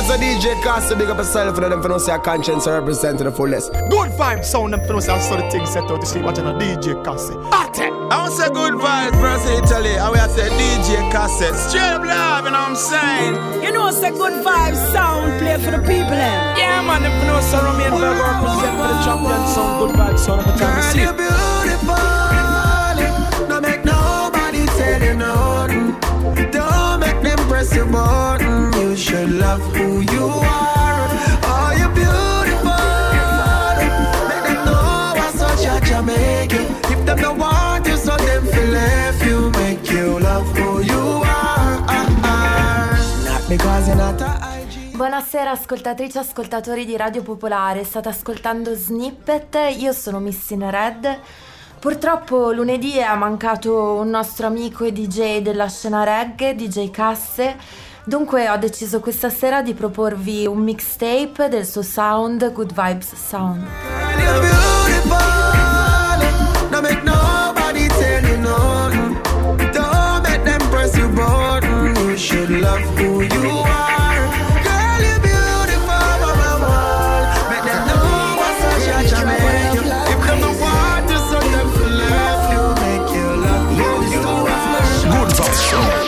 Yes, a DJ Casse, big up yourself for them for no say a conscience represent to the fullest. Good vibe sound them for no say I saw the thing set out to sleep watching a DJ Casse. Party! I want to say good vibes for us in Italy, and we have to say DJ Casse. Straight up love, you know what I'm saying? You know it's a good vibe sound play for the people then. Yeah man, them for no say Romain Virgo represent for the champion sound. Good vibe sound every time we see. Girl, you're beautiful. Don't make nobody tell you nothing. Don't make them press your button. You should love who you are. Oh, you're beautiful. Make them know I'm such a Jamaican. If them don't want you, so them feel left you. Make you love who you are. Not because you're not a IG. Buonasera ascoltatrici e ascoltatori di Radio Popolare. State ascoltando Snippet. Io sono Miss in Red. Purtroppo lunedì è mancato un nostro amico e DJ della scena reggae, DJ Casse. Dunque ho deciso questa sera di proporvi un mixtape del suo sound, Good Vibes Sound. You're beautiful. Don't make nobody tell you nothing. Don't make them press your button. You should love who you are. Girl, you're beautiful, mama. Make them know what's such a Jamaican. If them don't want you, so them feel left you. Make you love who you are. Good vibes.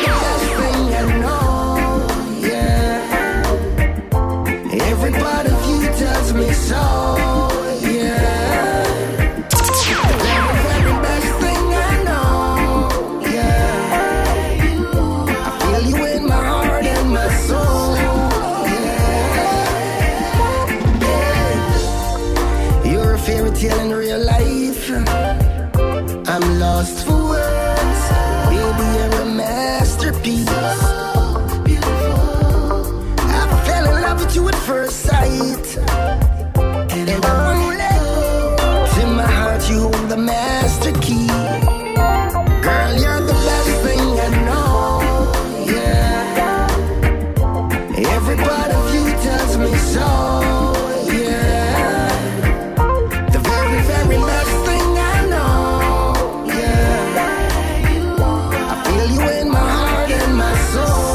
Every part of you tells me so, yeah. The very best thing I know, yeah. I feel you in my heart and my soul, yeah. You're a fairy tale in real life. I'm lost for words. Baby, you're a masterpiece. You at first sight, and I won't let go. To my heart you hold the master key. Girl, you're the best thing I know, yeah. Every part of you tells me so, yeah. The very, very best thing I know, yeah. I feel you in my heart and my soul.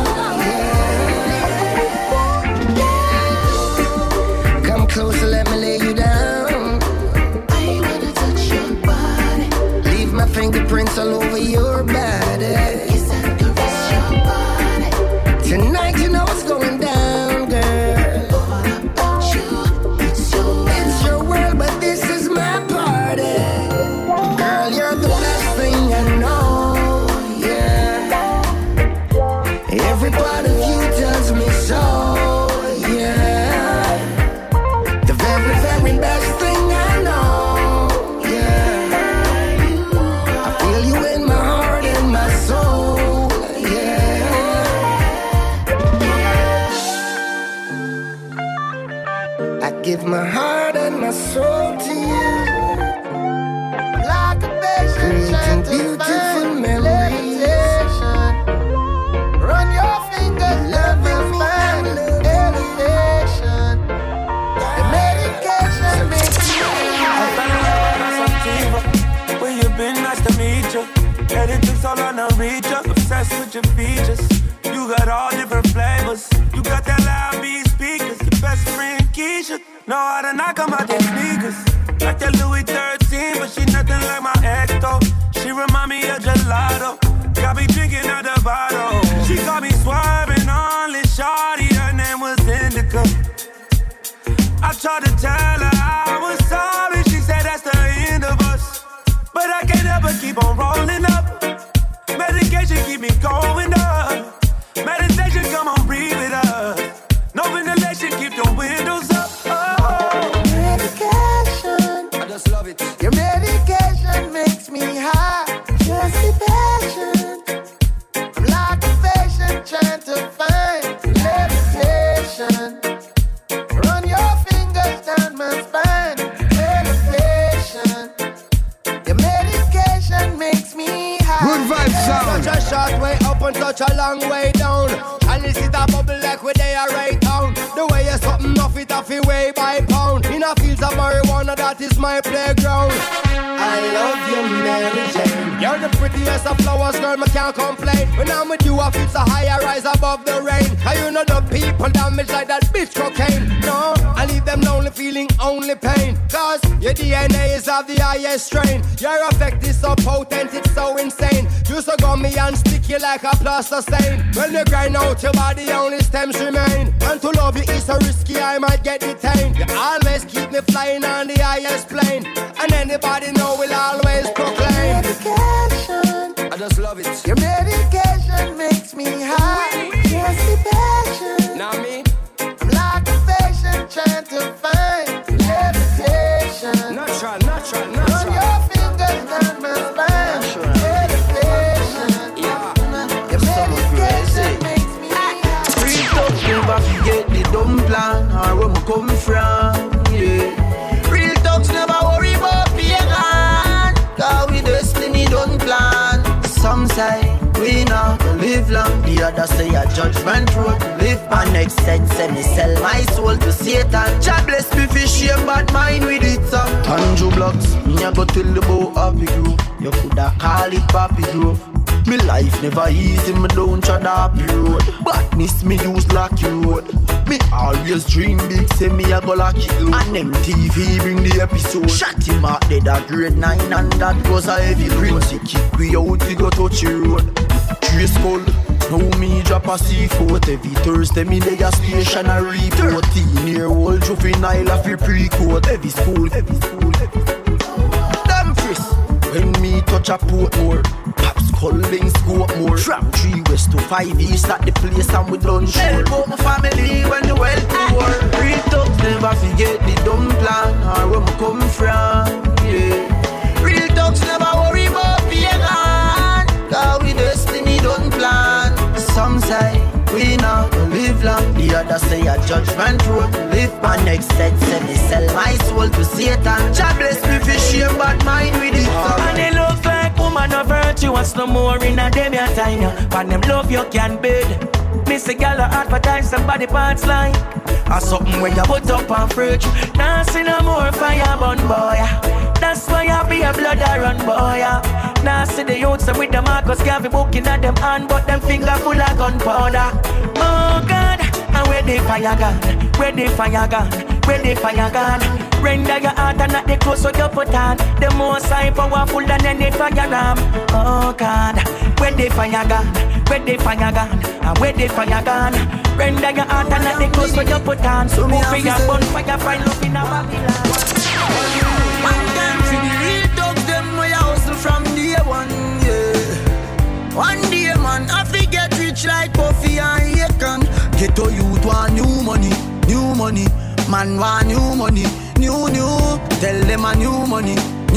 Closer, let me lay you down. I wanna touch your body. Leave my fingerprints all over your body. Kiss and caress your body. Tonight you know what's going down, girl. All about you, it's your world, but this is my party. Girl, you're the best thing I know, yeah. Every part of you tells me so. Best thing I know, yeah. I feel you in my heart and my soul, yeah. I give my heart and my soul to you. Like a patient, beautiful memories. Run your fingers, love is mine, elevation. Where you been? Nice to meet you. Headed to all on the reach up. Obsessed with your features. You got all different flavors. You got that loud beat speakers. Your best friend Keisha know how to knock 'em out their sneakers. Like that Louis 13, but she nothing like my ex though. She remind me of gelato. Got me drinking out the bottle. She got me swerving on this shawty. Her name was Indica. I tried to tell her I was sorry. She said that's the end of us. But I can't ever keep on rolling up. Medication keep me going up. Meditation, come on, breathe it up. No ventilation, keep the windows up. Oh. Medication, I just love it. Your medication makes me high. Just be patient. I'm like a patient trying to find levitation. Run your fingers down my spine. Elevation. Your medication makes me high. Good vibes sound. Such a short way up and such a long way down. And this is a bubble like we they are right down. The way you're something off it off your way by pound. In a fields of marijuana, that is my playground. I love you, Mary Jane. You're the prettiest of flowers, girl, I can't complain. When I'm with you, I feel so high, I rise above the rain. Cause you know the people damage like that bitch cocaine. No, I leave them lonely feeling only pain. Cause your DNA is of the highest strain. Your effect is so potent, it's so insane. You so gummy and sticky like a plaster stain. When you grind out your body, only stems remain. And to love you is so risky, I might get detained. You always keep me flying on the highest plane. And anybody know will always proclaim. Medication, I just love it. your medication makes me high. Just the passion. Now me, I'm like a patient trying to find levitation. natural. Run your fingers down my spine. Meditation. Yeah. Your medication makes me high. Free talk, never forget the dumb plan or where me come from, yeah. Real talks never worry about being on, cause we destiny don't plan. Some say we not gonna live long, the others say a judgment road to live. My next sense say me sell my soul to Satan. God bless me for shame, but mine with it up. Tanjo blocks, me a go tell the boy Happy Grove. You coulda call it Papi Grove. Me life never easy, me don't try the happy road. Badness me use lucky road. Me always dream big, say me a go lucky road. And MTV bring the episode. Shot him out dead at grade 9 and that was a heavy grade. She kick we out, we go touch the road. Trace cold, now me drop a C4. Every Thursday me lay a station a report. 13-year-old juvenile a free pre-code. Every school. Damn Chris, when me touch a Portmore. Collins go up more. From 3 west to 5 east at the place and we done sure. Help out my family when the well poor. Real talks never forget the dumb plan or where me come from, yeah. Real talks never worry about being on, cause we destiny don't plan. Some say we not gonna live long, the others say a judgment road to live. My next set say me sell my soul to Satan. God bless me for shame, but mine with it. And it looks like woman of virtuous no more in a dem your time. When them love you can bid. Miss a gal advertise somebody parts like or something when you put up on fridge. Now see no more fire burn boy. That's why I be a blood I run boy. Now see the youths with the Marcus Garvey booking at them hand, but them finger full of gunpowder. Oh God, and where the fire gun? Where the fire gun? Where the fire gun? Render your heart and not the clothes so you put on. The most high powerful than any fire ram. Oh God, where the fire gun? Where the fire gun? And where the fire gun? Render your heart and not the clothes so you put on. So move for your bonfire, find love in a Babylon. One time for the real dogs, them way I hustle from day one, yeah. One day, man, I forget rich like Puffy and Akon. Get to youth want new money. Man want new money, new. Tell them a new money.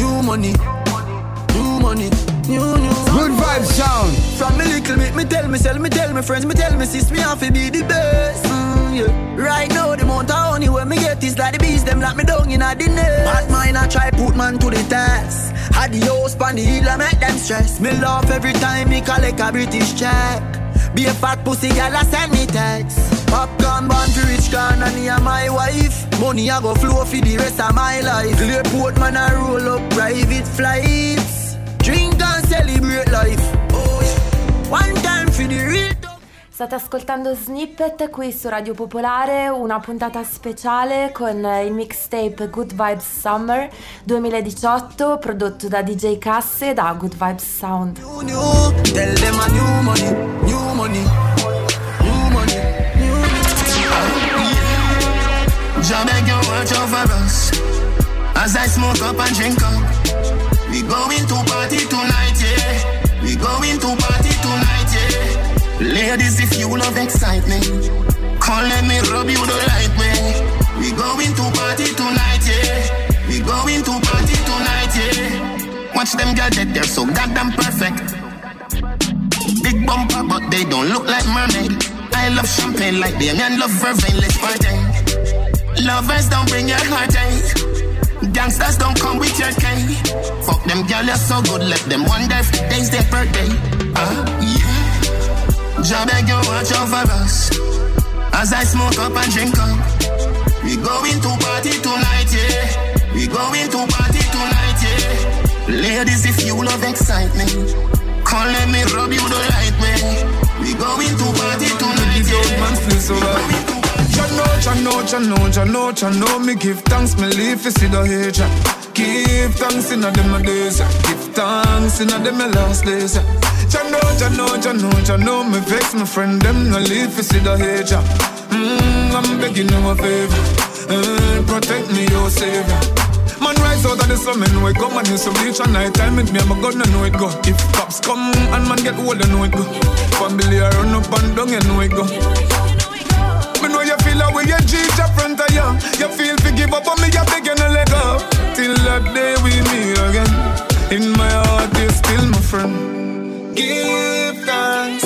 Good vibes sound. From me little bit, me tell myself, me tell my friends, me tell me sis, me have to be the best. Yeah. Right now, the amount of honey when me get is like the bees, them lock me down in a the nest. Bad mind I try put man to the test. Had the house pan the hill, I make them stress. Me laugh every time me collect a British check. Be a fat pussy girl, I send me text. Popcorn born to rich can and me and my wife. Money I go flow for the rest of my life. Clearport man I roll up private flights. Drink and celebrate life. Oh yeah. One time for the real. State ascoltando Snippet qui su Radio Popolare, una puntata speciale con il mixtape Good Vibes Summer 2018 prodotto da DJ Casse e da Good Vibes Sound. Tell them a new money. Jah beg you watch over us as I smoke up and drink up. We going to party tonight, yeah. We going to party tonight, yeah. Ladies, if you love excitement, come let me rub you the right way. We going to party tonight, yeah. We going to party tonight, yeah. Watch them girls dead, they're so goddamn perfect. Big bumper, but they don't look like mermaid. I love champagne like Damien love vervain, let's party. Lovers don't bring your heartache. Gangsters don't come with your cane. Fuck them girls, you're so good, let them wonder if today's their birthday. Yeah. Jah beg you watch over us as I smoke up and drink up. We going to party tonight, yeah. We going to party tonight, yeah. Ladies, if you love excitement, come let me rub you the right way. We going to party tonight, yeah. survive. Jano, me give thanks, me live for see the hate. Give thanks in a them days, give thanks in a them last days. Jano, me vex my friend, them no live for see the hate. I'm begging you a favor, protect me, your savior. Man rise out of the slum and wake up, man use some bleach at night time. With me, I'm a gun, I know it go. If cops come and man get old, I know it go. Family I run up and down, you know it go. Me know you feel away, you cheat your front of you. You feel to give up on me, you begging to let go. Till that day we meet again. In my heart, you're still my friend. Give thanks,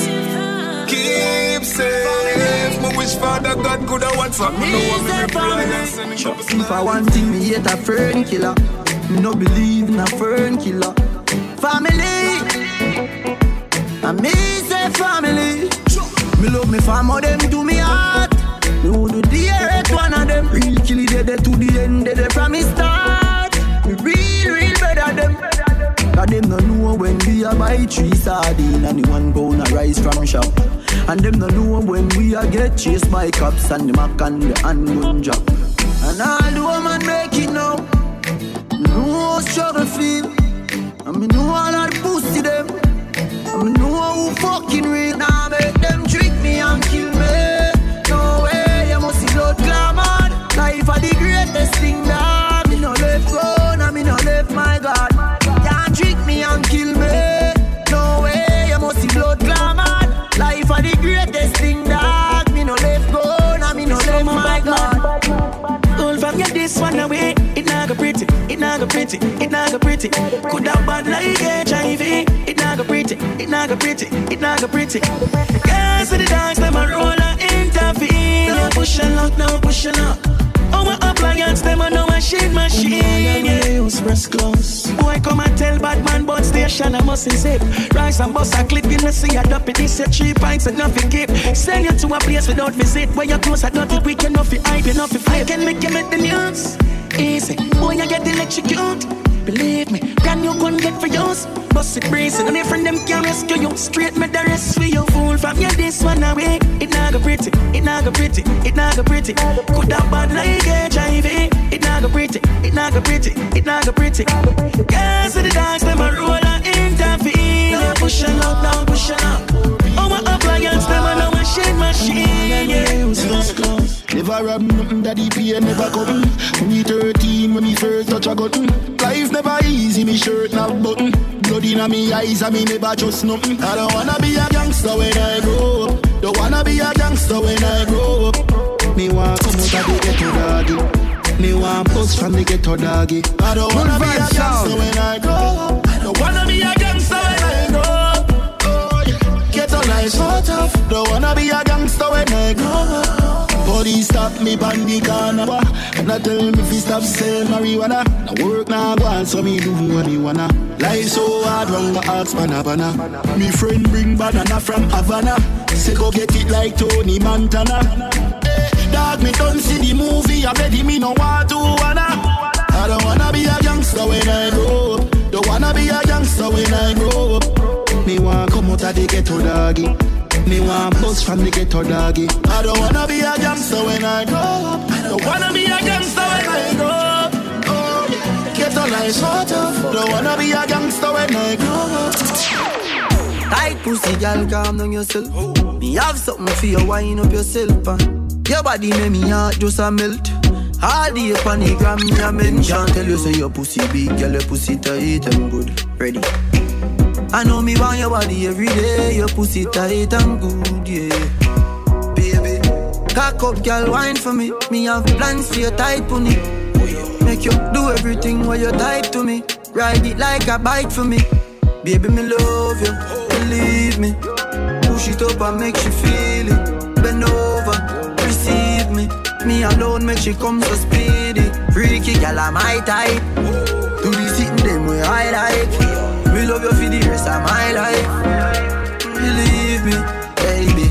keep safe. My wish Father God could have WhatsApp me. No one me reply and send it up. If I want thing, me hate a fern killer. Me no believe in a fern killer. Family, I me say family. Me love me family, them to me heart. Me would do the hate one of them. Real killy dead to the end, dead from me start. Me real better them. Cause them no know when we a buy 3 sardines and the 1 pound a rice from shop. And them no know when we a get chased by cops and the mac and the handgun job. And all the woman make it now. Me know how struggle feel. And me know all of the pussy them. And me know who fucking real. Now make them trick me and kill me. No way, you must see blood glamour. Life are the greatest thing that me no left go, now me no left my God. Can't trick me and kill me. No way, you must see blood glamour. Life are the greatest thing that me no left go, now me no left my God. All from you this one away, it not go pretty, it not go pretty, it not go pretty. Could have bad like HIV, it not go pretty, it not go pretty, it not go pretty. Girls with the dogs, them a roll and intervene. No push and lock, no push and lock. Oh, my appliance, them a no machine. Yeah, use press close. Boy, come and tell bad man, but station I must zip. Rise and bust a clip, you know see a dop it. This a 3 pints and nothing keep. Send you to a place without visit. Where you close at nothing, we can nothing hype, you nothing flip. I can make you make the news. Easy, boy, you get electrocuted. Believe me, brand new gun get for yours. Bust it brazen, and if friend them can rescue you. Straight me the rest for you. Fool from you this one away. It not go pretty, it not go pretty, it not go pretty. Could have bad like HIV. It not go pretty, it not go pretty, it not go pretty. Girls with the dogs, them a roll and intervene. Now push and up, now push and up. Oh, my appliance, them a no machine. Yeah, close, close. Never rob nothing, daddy pay never come. When me 13, when me first touch a gun. Life never easy, me shirt not button. Blood inna me eyes and me never trust nothing. I don't wanna be a gangster when I grow up. Don't wanna be a gangster when I grow up. Me want come out of the ghetto doggy. Me want bust from the ghetto doggy. I don't wanna be a gangster when I grow up. Don't wanna be a gangster when I grow up. Oh, yeah. Ghetto life so tough. Don't wanna be a gangster when I grow up. Police stop me on the corner and I tell me if he stop selling marijuana. Now work now go on, so me do what me wanna. Life so hard, wrong my heart's banana. Me friend bring banana from Havana. Say go get it like Tony Montana. Hey, dog, me don't see the movie, I bet me no want to wanna. I don't wanna be a gangster when I grow up. Don't wanna be a gangster when I grow up. Me want come out of the ghetto doggy. Me want bust from the ghetto doggy. I don't wanna be a gangster when I grow up. I don't wanna be a gangster when I grow up. Oh, yeah. Ghetto life so tough. Don't wanna be a gangster when I grow up. Tight pussy, girl, calm down yourself. Me have something for you, wind up yourself. Your body make me heart just a melt. All the up on the gram, me a mention. Tell you say your pussy big, girl, your pussy tight and good. Ready? I know me want your body every day. Your pussy tight and good, yeah. Baby, cock up, girl, wine for me. Me have plans for your tight pony. Make you do everything while you type to me. Ride it like a bike for me. Baby, me love you, believe me. Push it up and make she feel it. Bend over, receive me. Me alone make she come so speedy. Freaky, girl, I'm my type. Do the sitting them where I like. Me love you for the rest of my life. Believe me, baby.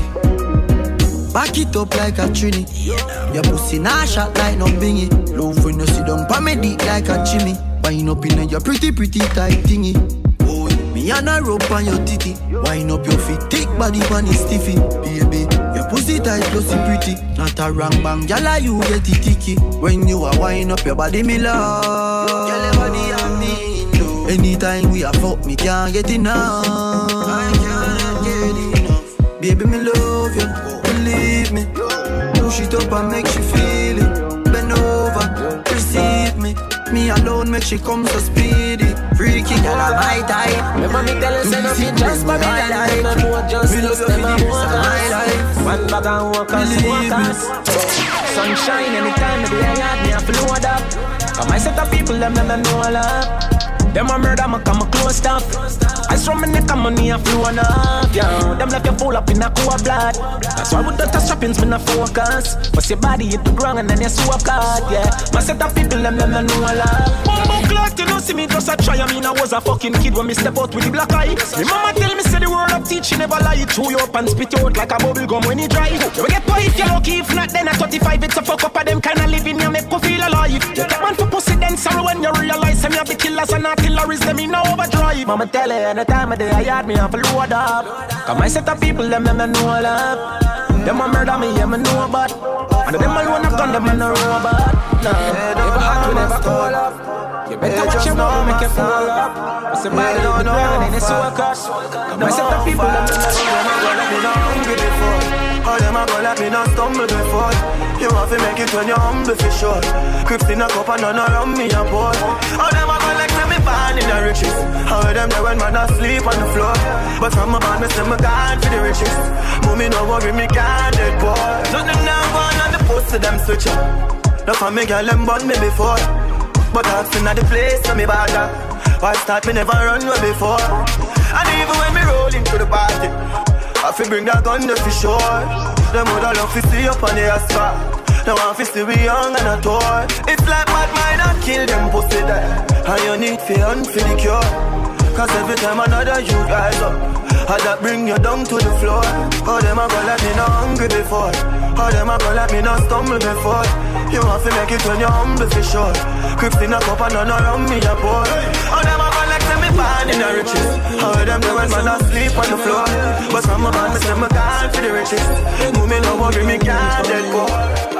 Back it up like a trini. Your pussy nah shot like no bingy. Love when you sit down pa me dick like a Jimmy. Wind up in your pretty tight thingy. Oh, me and a rope on your titty. Wind up your feet, thick body pan is stiffy. Baby, your pussy Pussy tight, pussy pretty. Not a wrong bang, gyal, you get it ticky. When you are wind up your body, me love. Gyal, your body and me too. Anytime we are fuck, me can't get enough. I can't get enough. Baby, me love you, believe me. Push it up and make she feel it. Bend over, receive me. Me alone make she come so speedy. Freaky girl, I'm my type. Remember me tell you, say nothing just for me. Them a more justice, them a more cause. One bag and walkers. Sunshine anytime me be a yard, me a float up. Cause my set of people, them know a lot. Them a murder, me come a close stuff. I from my neck and money a flow enough, yeah. Them left you full up in a cool blood. That's why with the strappings me no focus. But your body hit the ground and then you swap card, yeah. My set of people, them know a lot. Bumbo clock, you know, see me just a try. I mean, I was a fucking kid when me step out with the black eye. My mama tell me, say the word of teach, she never lie. Chew you up and spit you out like a bubble gum when you dry. You get pie if you're lucky, if not then at 35, it's a fuck up of them kind of living, you make you feel alive. You take man for pussy, then sorrow when you realize them you have the killers and artilleries, them in overdrive. Mama tell her anytime of day I had me have a load up. Cause my set of people, them know love. Them a murder me, yeah, me know about. And them alone have done them and no robot. No, never hot, we never cool up. You better watch your mouth, make you fall up. I say body hit the ground and it's so cuss. My set of people, them know hungry before. All them a go like me not stumble before. You have to make it when you're humble for sure. Crips in a cup and none around me a pour. All them a go like me born in the riches. How them there when man asleep on the floor. But from my band me say me gone for the riches. Mommy no worry me can't dead boy. Nothing now gone on the post to them switch up. No for me girl them born me before. But I've seen at the place so me bad up. Why start me never run way before. And even when me roll into the party, I fi bring that gun there for sure. Them woulda love to see up on the asphalt. Now I fi see we young and a toy. It's like bad mind and kill them pussy there. And you need fi hunt for the cure. Cause every time another you rise up, I that bring you down to the floor. How them a go like me not hungry before. How them a go like me not stumble before. You have to make it when you're humble for sure. Crips in a cup and none around me a pour. How them a go like me born in the riches. How them do when man asleep on the floor. But from my band me say me gone for the riches. Mommy no worry me can't dead poor.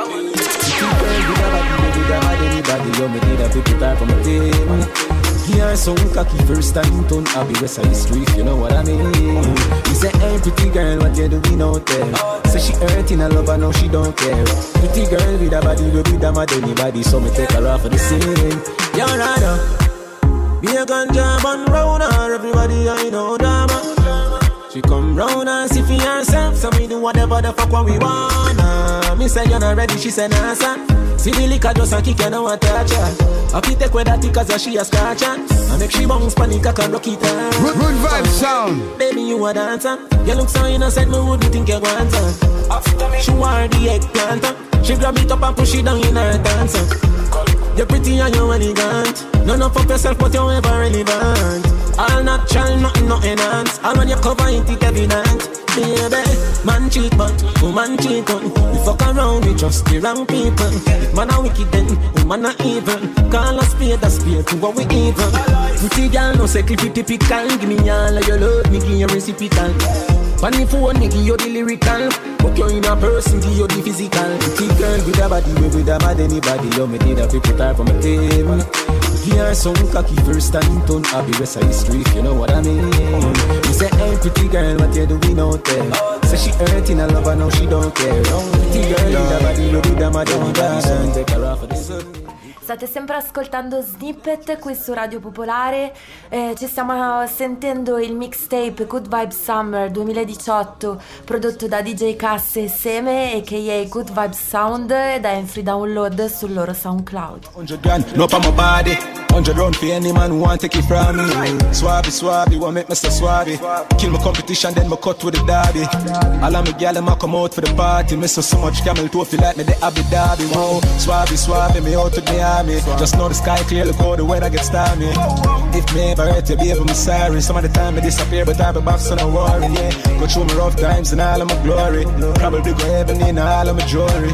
Anybody you me need a people type from a team. Here some cocky first time turn happy West Side Street, you know what I mean. He say, hey pretty girl, what you doing out there? Say she hurting a lover, now she don't care. Pretty girl with a body, will be damn at anybody, so me take her off of the scene. You're right, be a ganja man round her, everybody I know drama. She come round and see for herself, so me do whatever the fuck what we wanna. Me say you're not ready, she say nah son. See the liquor just a kick and I want to touch her. I keep take with that cause she a scratch her. I make she bounce panic, I can rock it her. Good vibe sound. Baby you a dancer. You look so innocent, me wouldn't think you want her. She want the eggplant. She grab it up and push it down in her dancer. You're pretty and you're elegant. None of up yourself but you're ever relevant. All natural, nothing enhanced. All when you cover it, it's evident. Baby, man cheat but woman cheat on. We fuck around with just the wrong people. If man a wicked then woman a evil. Call a spade to what we evil. Pretty girl no say clippy typical. Give me all of your love, me give you reciprocal. Funny phone, me give you the lyrical. Put you in a person, give you the physical. Pretty girl with a body, with a mad anybody. You me need a people type from a team. Here some cocky first time turn happy West Side Street, you know what I mean. You say, hey pretty girl, what you doing out there? Say she hurting a lover, now she don't care. Pretty girl with a body, you be damn a anybody, so take her off of the sun. State sempre ascoltando Snippet qui su Radio Popolare, ci stiamo sentendo il mixtape Good Vibes Summer 2018 prodotto da DJ Cass e Seme a.k.a. Good Vibes Sound ed è in free download sul loro SoundCloud. 100 grand, no pa my body, 100 round for any man who want take it from me. Swabby, want make me so swabby. Kill my competition, then my cut with the derby. All of my gal them a come out for the party. Me so much camel toe feel like me the Abu Dhabi. Wow, swabby, me out to the army. Just know the sky clear, look how the weather gets stormy. If me ever hurt you, baby, I'm sorry. Some of the time I disappear, but I be back, so don't worry, yeah. Go through my rough times and all of my glory. Probably go heaven in all of my jewelry.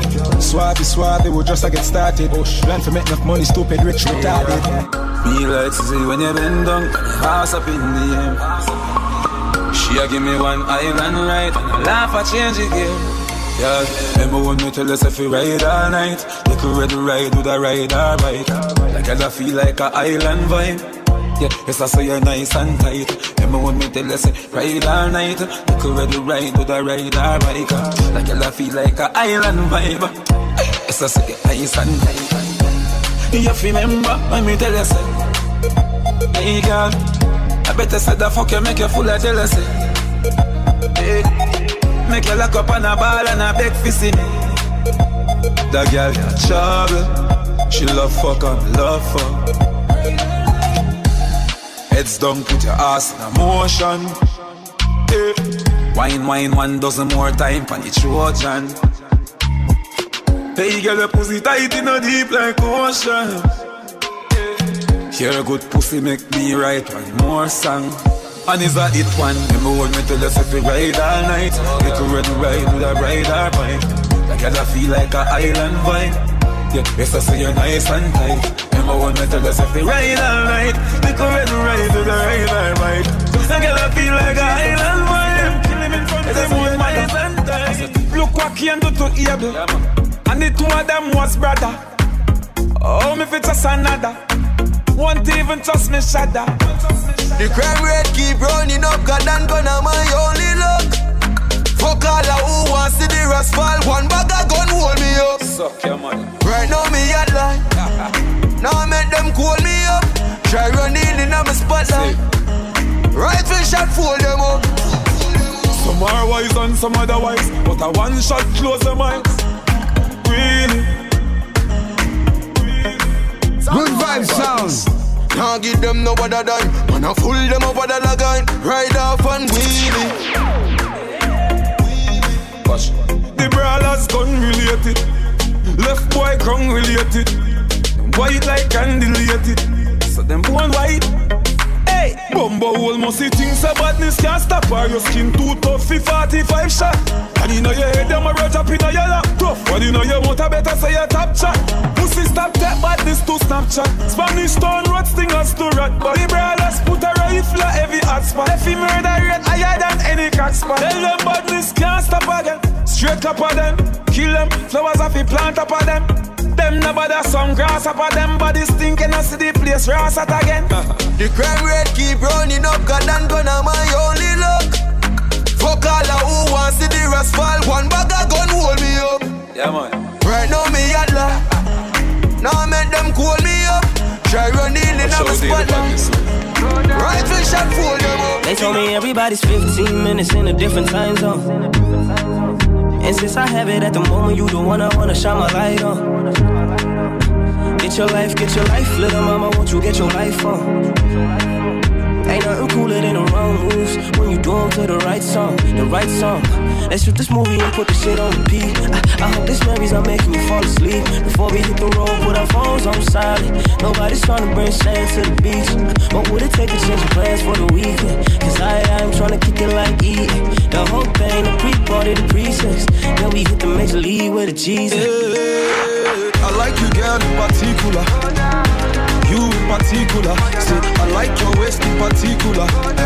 Swabby, we'll just get started. Plan for make enough money, stupid, rich, retarded. Me like to see when you bend down, pass up in the air. She a give me one island right, and I laugh I change again. Yeah, remember when me tell us if we ride all night, you could ready ride with a ride or bike. Like I feel like a island vibe. Yeah, yes I say you're nice and tight. Remember when me tell us ride all night, you could ready ride with a ride or bike. Like I feel like a island vibe. Yes I say you're nice and tight. You remember when me tell us, hey girl, I better say the fuck you make you full of jealousy. Hey. Make you lock up on a ball and a beg for see me. That girl got trouble. She love fuck and love fuck. Heads down, put your ass in a motion. Hey. Wine, 1 dozen more time pan the Trojan. Hey girl, your pussy tight in a deep like ocean. Hear a good pussy make me write one more song. And is a hit one. Remember when me tell us if we ride all night, you could ready ride with a ride or bike. Like I feel like a island vibe. Yeah, yes I say you're nice and tight. Remember when me tell us if we ride all night, you could ready ride with a ride or bike. Like I feel like a island vibe. Killing in front of them with my nice and tight. Look what can do to Abel. And the two of them was brother. Oh, me fit just another. Won't even trust me, shudder. The crime rate keep running up, God and gonna my only luck. Fuck all who wants to the rest fall. One bag of gun hold me up. Suck your money. Right now me at line. Now I make them call me up. Try running in on my spotlight. Rifle shot fold them up. Some are wise and some otherwise, but a one shot close them eyes. Really? Good vibe sounds. Can't give them no other dime. Man, I fool them over the line. Ride off and wheelie. Watch. The brawlers gun related. Left boy crown related. White like candelated. So them born white. Hey, Bumbo almost see things so badness can't stop her. Your skin too tough for 45 shot. And you know your head them a roll up in your lap tough. But you know you want a better say your top chat. Pussy stop that badness to Snapchat. Spanish stone road stingers to rat. But the brothers put a rifle at every hot spot. If he murder rate higher than any crack spot. Tell them badness can't stop again. Straight up of them, kill them. Flowers off the plant up of them. Them no bother some grass up of them. Bodies stinking and see the place ras at again. The crime rate keep running up, God and gonna my only luck. Fuck all who wants to the rest fall. One bag of gun hold me up. Yeah man. Right now me at lie. Now I make them call me up. Try running in on my spotlight. Rifle shot fold them up. They told me everybody's 15 minutes in a different time zone. And since I have it at the moment, you the one I wanna shine my light on. Get your life, little mama, won't you get your life on? Ain't nothing cooler than the wrong moves when you do them to the right song, Let's shoot this movie and put the shit on repeat. I hope this memories are making you fall asleep. Before we hit the road, put our phones on silent. Nobody's trying to bring sand to the beach. What would it take to change your plans for the weekend? Cause I'm trying to kick it like eating. The whole thing, the pre-party, the pre-sex. Then we hit the major league with a Jesus. I like you, girl, in particular. You in particular. Say, I like your waist in particular.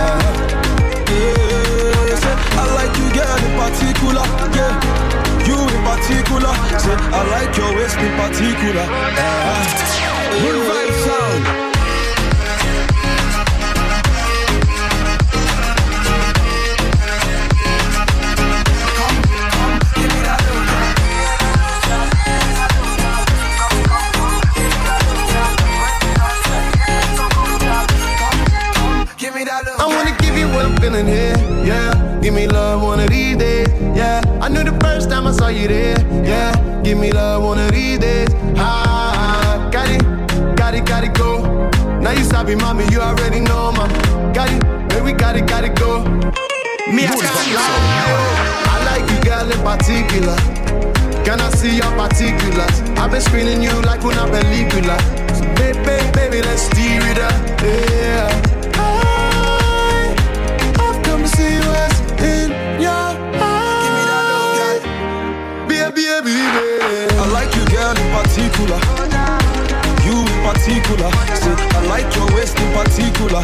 I like you, girl, in particular. Yeah, you in particular. Say, I like your waist in particular. Good vibe sound. I wanna give you what I'm feeling here, yeah. Give me love one of these days, yeah. I knew the first time I saw you there, yeah. Give me love one of these days, got it, go. Now you sabi, mommy, you already know, ma. Got it, baby, got it, go. Me, I can't lie, I like you, girl, in particular. Can I see your particulars? I've been screening you like una película. So baby, let's steer it up, yeah. See what's in your eyes. Baby. I like you, girl, in particular. You in particular. Say, I like your waist in particular.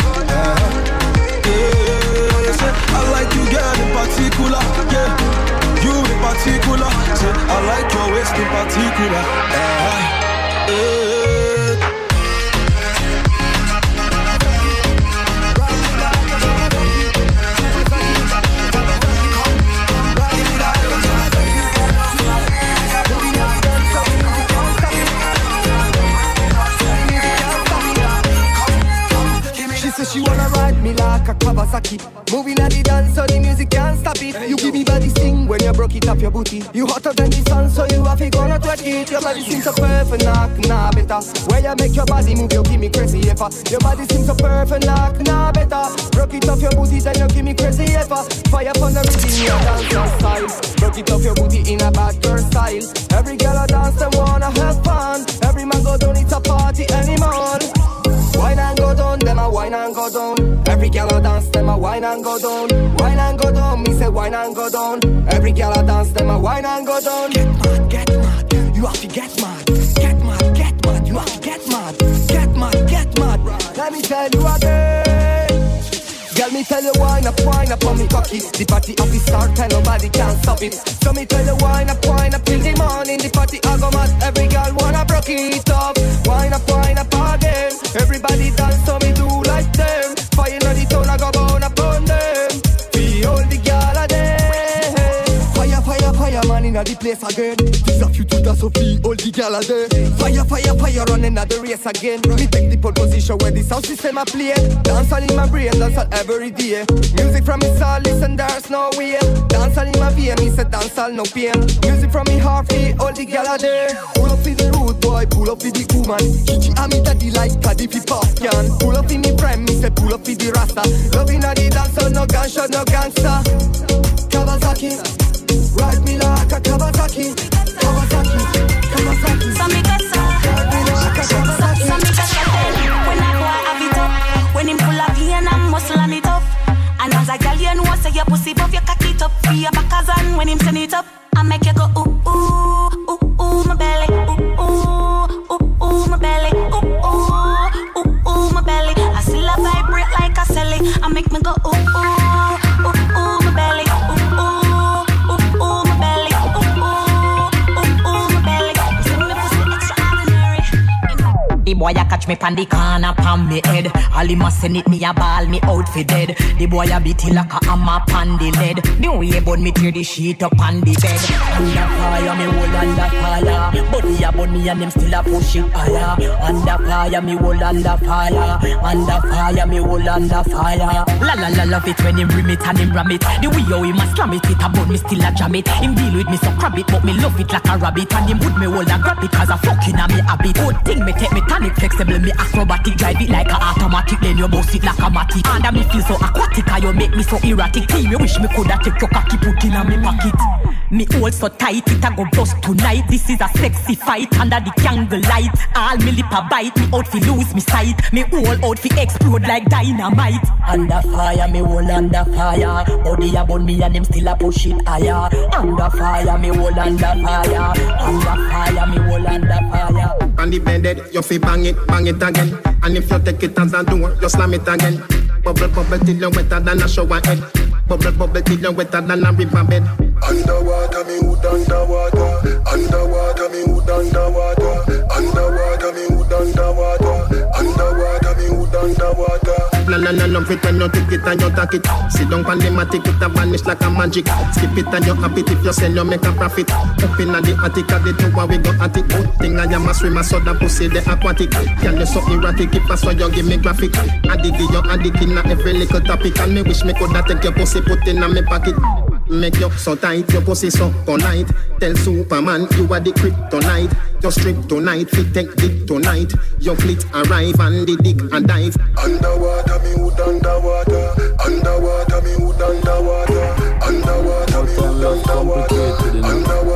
I like you, girl, in particular. Yeah, you in particular. Say I like your waist in particular. She wanna ride me like a Kawasaki. Moving at the dance so the music can't stop it. You give me body sting when you broke it off your booty. You hotter than the sun so you have to gonna twerk it. Your body seems so perfect, nah better. Where you make your body move, you give me crazy ever. Your body seems so perfect, nah better. Broke it off your booty then you give me crazy ever. Fire upon the rhythm, your dance style. Broke it off your booty in a bad girl style. Every girl a dance them wanna have fun. Every man go down, it's a party anymore. Wine and go down, them a wine and go down. Every girl a dance, them a wine and go down. Wine and go down, me say wine and go down. Every girl a dance, them a wine and go down. Get mad, you have to get mad. Get mad, you have to get mad. Get mad, let me tell you again. Girl, me tell you wine up on me cocky. The party up the start and nobody can stop it. So me tell you wine up till the morning. The party I go mad, every girl wanna broke it up. Wine up again. Everybody dance so me do like them. Fire on the town I go burn upon them. We all the girl a there. Fire man in the place again. This a few to dance so we all the girl a there. Fire running at the race again. Me take the pole position where the sound system a play. Dance all in my brain, dance all every day. Music from me soul, listen there's no way. Dance all in my vein, me say dance all no pain. Music from me heart, we all the girl a there. Pull up in the road boy, pull up in the woman. Chichi and me daddy like caddy fi popcorn. Pull up in the prime, me say pull up in the rasta. Loving at the dance, so no gunshot, no gangster. Kawasaki, ride me like a Kawasaki. So me get so when I go I have it up. When him full of pain and muscle and it up. And as a girl you know say your pussy buff your cock it up. For your backers and when him send it up, I make you go ooh ooh ooh ooh my belly. Ooh ooh ooh ooh my belly. Ooh ooh ooh ooh my belly. I still a vibrate like a celly. I make me go ooh ooh ooh ooh my belly. Ooh ooh ooh ooh my belly. Ooh ooh ooh ooh my belly. See me pussy extraordinary. The boy a catch me pan the corner pan me head. All him a send it me a ball me out for dead. The boy a beat it like a hammer pan the lead. The way burn me tear the sheet up on the bed. Under fire me hold under fire. Body a burn me and them still a push it higher. Under fire me hold under fire. Under fire me hold under fire. La la la love it when him rim it and him ram it. The way how him a slam it a burn me still a jam it. Him deal with me so crab it but me love it like a rabbit. And him would me hold and grab it cause a fucking a me habit. Good thing me take me tonic flexible me acrobatic. Drive it like a automatic then you bounce it like a matic. And me feel so aquatic and you make me so erratic. Team you wish me coulda take your cocky put in a me pocket. Me hold so tight it a go bust tonight. This is a sexy fight under the candle light. All me lip a bite, me out fi lose me sight. Me whole out fi explode like dynamite. Under fire, me hold under fire. Body a burn me and them still a push it higher. Under fire, me hold under fire. Under fire, me hold under fire. On the bed, you fi bang it again. And if you take it as a door, you slam it again. Bubble, bubble till you wetter than a shower head. Bubble, bubble till you wetter than a river bed. Underwater, me hood underwater. Underwater, me hood underwater. Underwater, me hood underwater. Underwater, me hood underwater. La love it when you take it and you take it. Sit down on the matic, it a vanish like a magic. Skip it and you happy if you sell, you make a profit. Up in the attic, at the tower we go at it. Good thing I am a swimmer, so that pussy the aquatic. Can you so erratic, if I saw you give me graphic. Addict you addict in every little topic. And me wish me coulda take your pussy, put in my pocket. Make you so tight, your pussy so polite. Tell Superman you are the kryptonite. Your strip tonight, fit take dick tonight. Your fleet arrive and the dick and dive. Underwater, me hood underwater. Underwater, me hood underwater. Underwater, me hood underwater. Underwater, me hood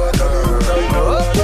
underwater.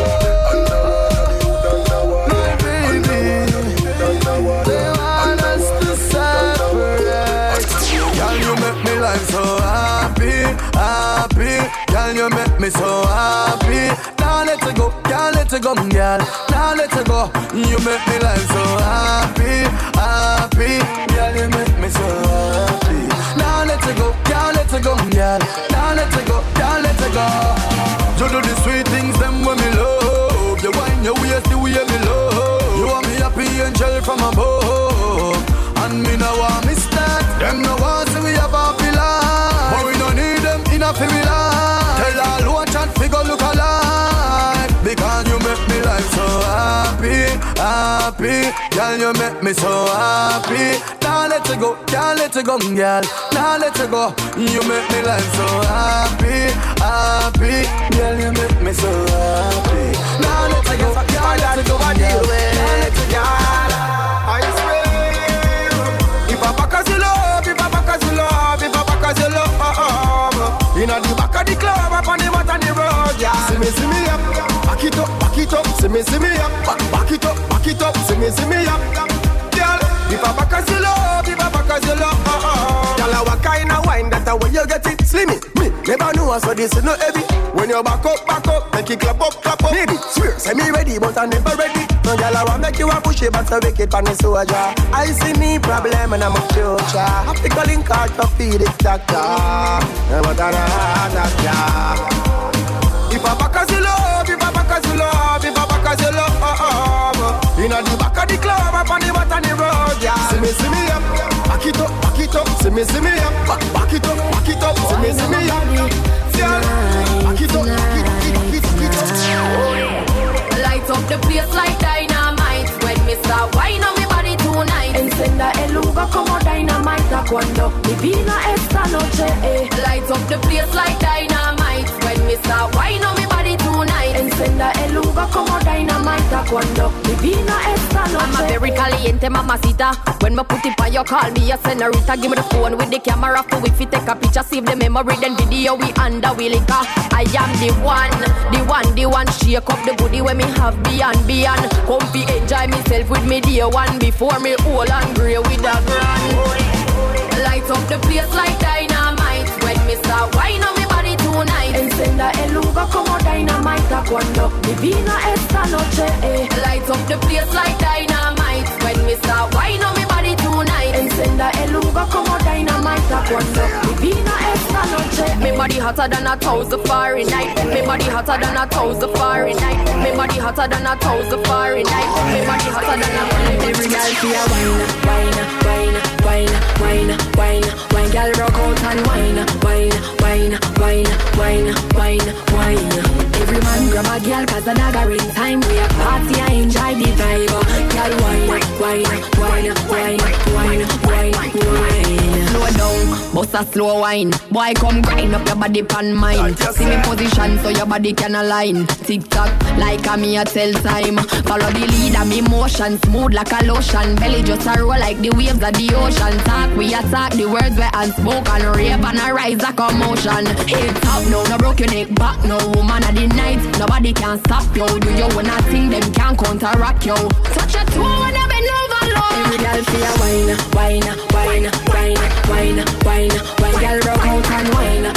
Happy, girl, you make me so happy. Now let it go, girl, let let it go, girl. Now let it go. You make me life so happy, happy. Girl, you make me so happy. Now let it go, can't let it go, girl. Now let it go, can't let it go. You do the sweet things, them when me love. You wind your waist, the way me love. You want me happy angel from above. And me no want me start. Them no want see we have a pillar. But we don't need them in a familiar. Tell all watch and figure look alive. Because you make me life so happy, happy. Girl, you make me so happy. Now let it go, can't let it go, girl. Now let it go. You make me life so happy, happy. Girl, you make me so happy. Now let it go, can't let it go, girl. Now let it go. I swear. If I back as you love, if I back as you love, if I back as you love. Inna the back of the club, up on the mat on the road, yeah. See me up, back it up, see me up, back it up, see me up, girl. If I back as you love, if I back as you love, girl, what kind of wine that way you get it? Slimmy, me never know so this is no heavy. When you back up, make it clap up. Maybe swear, say me ready, but I never ready. No girl, I want make you a push it, but so make it pan the soldier. I see me problem and I'm a future. Have to call in card to feed it, doctor. But if I back as you love, if I back as you love, if I back as you love, inna the back of the club, up on the mat on the road, yeah. See me up, back it up, see me up, back it up, see me up, yeah. Back it up. Light up the place like dynamite. When me start wine on me body tonight. Encenda el lugar como dynamite. Cuando mi vida esta noche, Light up the place like dynamite. When me start wine on me body tonight. Encenda el lugar como dynamite. Cuando mi vida esta noche. I'm a very caliente mamacita. When me put it on you, call me a senorita. Give me the phone with the camera for if you take a picture, save the memory, then video we under we liquor. I am the one. Shake up the booty when me have beyond. Comfy enjoy myself with me dear one. Before me old and grey with a grand. Light up the place like dynamite. When me start wine on me body tonight. Encenda el lugar como dynamite. Cuando mi vida esta noche, Light up the place like dynamite. When me start wine on me body tonight. Encenda el lugar como dynamite. Cuando mi vida esta noche. Me body hotter than 1,000 Fahrenheit. Me body hotter than 1,000 Fahrenheit. Me body hotter than 1,000 Fahrenheit. Me body hotter than a every girl feel wine, girl rock out and wine. Every man grab a girl 'cause the dagger in time. We a party and enjoy the vibe. Girl wine. Slow down, bust a slow wine. Boy come grind up your body pan mine. See me position so your body can align. Tick tock like a me a tell time. Follow the lead of me motion, smooth like a lotion. Belly just a roll like the waves of the ocean. Talk we attack the words where unspoken. Rave and a rise a commotion. Head top no broke your neck back. No woman of the night, nobody can stop you. Do you wanna think them can counteract you? Touch a toe when I bend over low. Every girl feel wine. Girl rock out and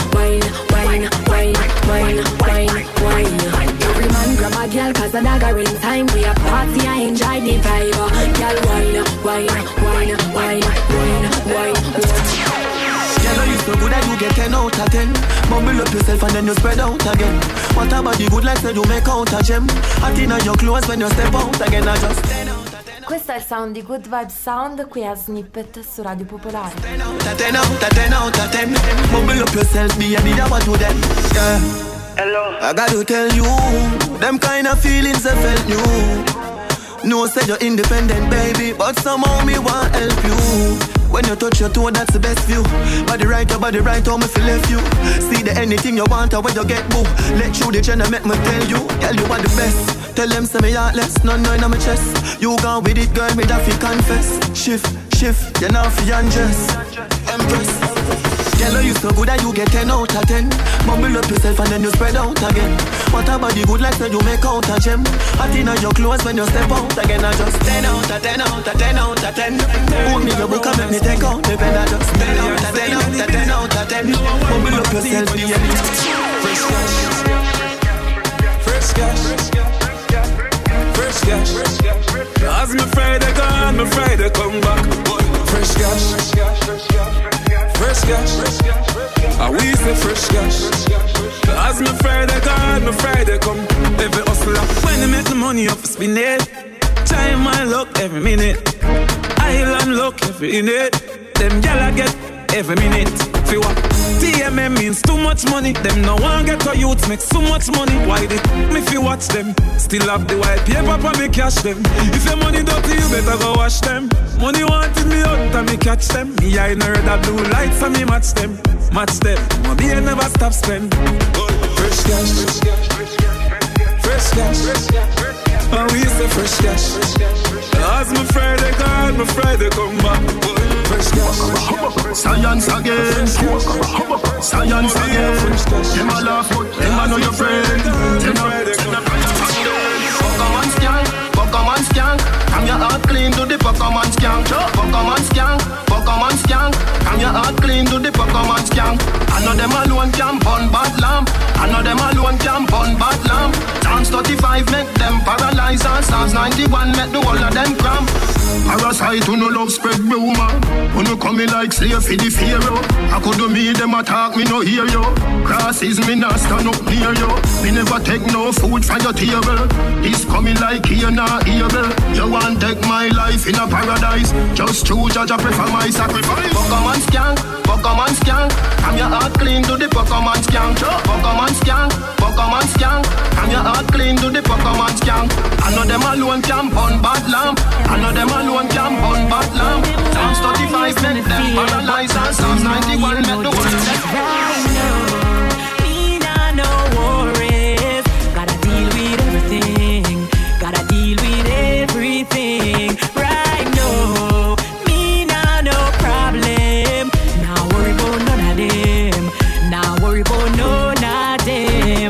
wine. Every man grab a girl 'cause the dagger in time. We a party and enjoy the vibe. Girl wine. Girl, you so good that you get 10 out of 10. Mumble up yourself and then you spread out again. What about the good like said you make out a gem? I think on your clothes when you step out again. I just 10 out. Questo è il sound di Good Vibe Sound qui a Snippet su Radio Popolare. 10 out of 10. Mumble up yourself, me and the what to them. Yeah. Hello. I gotta tell you, them kind of feelings I felt new. No said you're independent, baby, but somehow me want help you. When you touch your toe, that's the best view. Body right, how me feel left you. See the anything you want, or when you get boo. Let you the gender make me tell you. Girl, you are the best. Tell them say me heartless, none in my chest. You gone with it, girl, me that fi confess. Shift, you now fi undress. Empress. Girl, you so good that you get 10 out of 10. Mumble up yourself and then you spread out again. What about the good like that you make out a gem? I think on your clothes when you step out again. I just 10 out of 10 out of 10 out of 10. Hold me your book and make me take out the pen. I just 10 out of 10 out of 10 out of 10. Mumble up yourself, be a Fresh cash. As my Friday gone, my Friday come back. Fresh cash, fresh cash. I we say fresh cash. As my Friday gone, my Friday come. Every hustler, when they make the money up, spin it. Time my luck every minute. Island luck every minute. Them gyal get every minute. Feel what? TMM means too much money. Them no one get to youths make so much money. Why they me if you watch them? Still have the white paper for me cash them. If your money dirty, you better go wash them. Money wanted me out and me catch them. Me I know that blue lights and me match them. Match them. My beer never stop spend. Fresh cash, fresh cash. And we say fresh cash. As my Friday gone, my Friday come back. Fresh cash. Science again. Science again. Them a laugh, but them a know your friend. Pokemon scan, Pokemon scan. Come your heart clean to the Pokemon scan. Pokemon scan, Pokemon scan. Come your heart clean to the Pokemon scan. I know them alone can burn bad lamp. I know them alone can burn bad lamp. Chance 35 make them paralyze and Psalms 91 make the whole of them cramp. Parasite who no love spread rumor. Who no coming like slave for the pharaoh. I could do me them attack me no hear you. Crosses me not stand up near you. Me never take no food from your table. This coming like here not able. You want take my life in a paradise. Just choose judge I prefer my sacrifice. Pokemon scan, Pokemon scan. I'm your heart clean to the Pokemon scan. Pokemon scan, Pokemon scan. I'm your heart clean to the Pokemon scan. I know them alone can burn bad lamp. I know them alone can burn bad lamp. Psalms 35 make them paralyze and Psalms 91 make the world right now, me nah no worries. Gotta deal with everything. Gotta deal with everything. Right now, me nah no problem. Now worry about none of them. Now worry about none of them.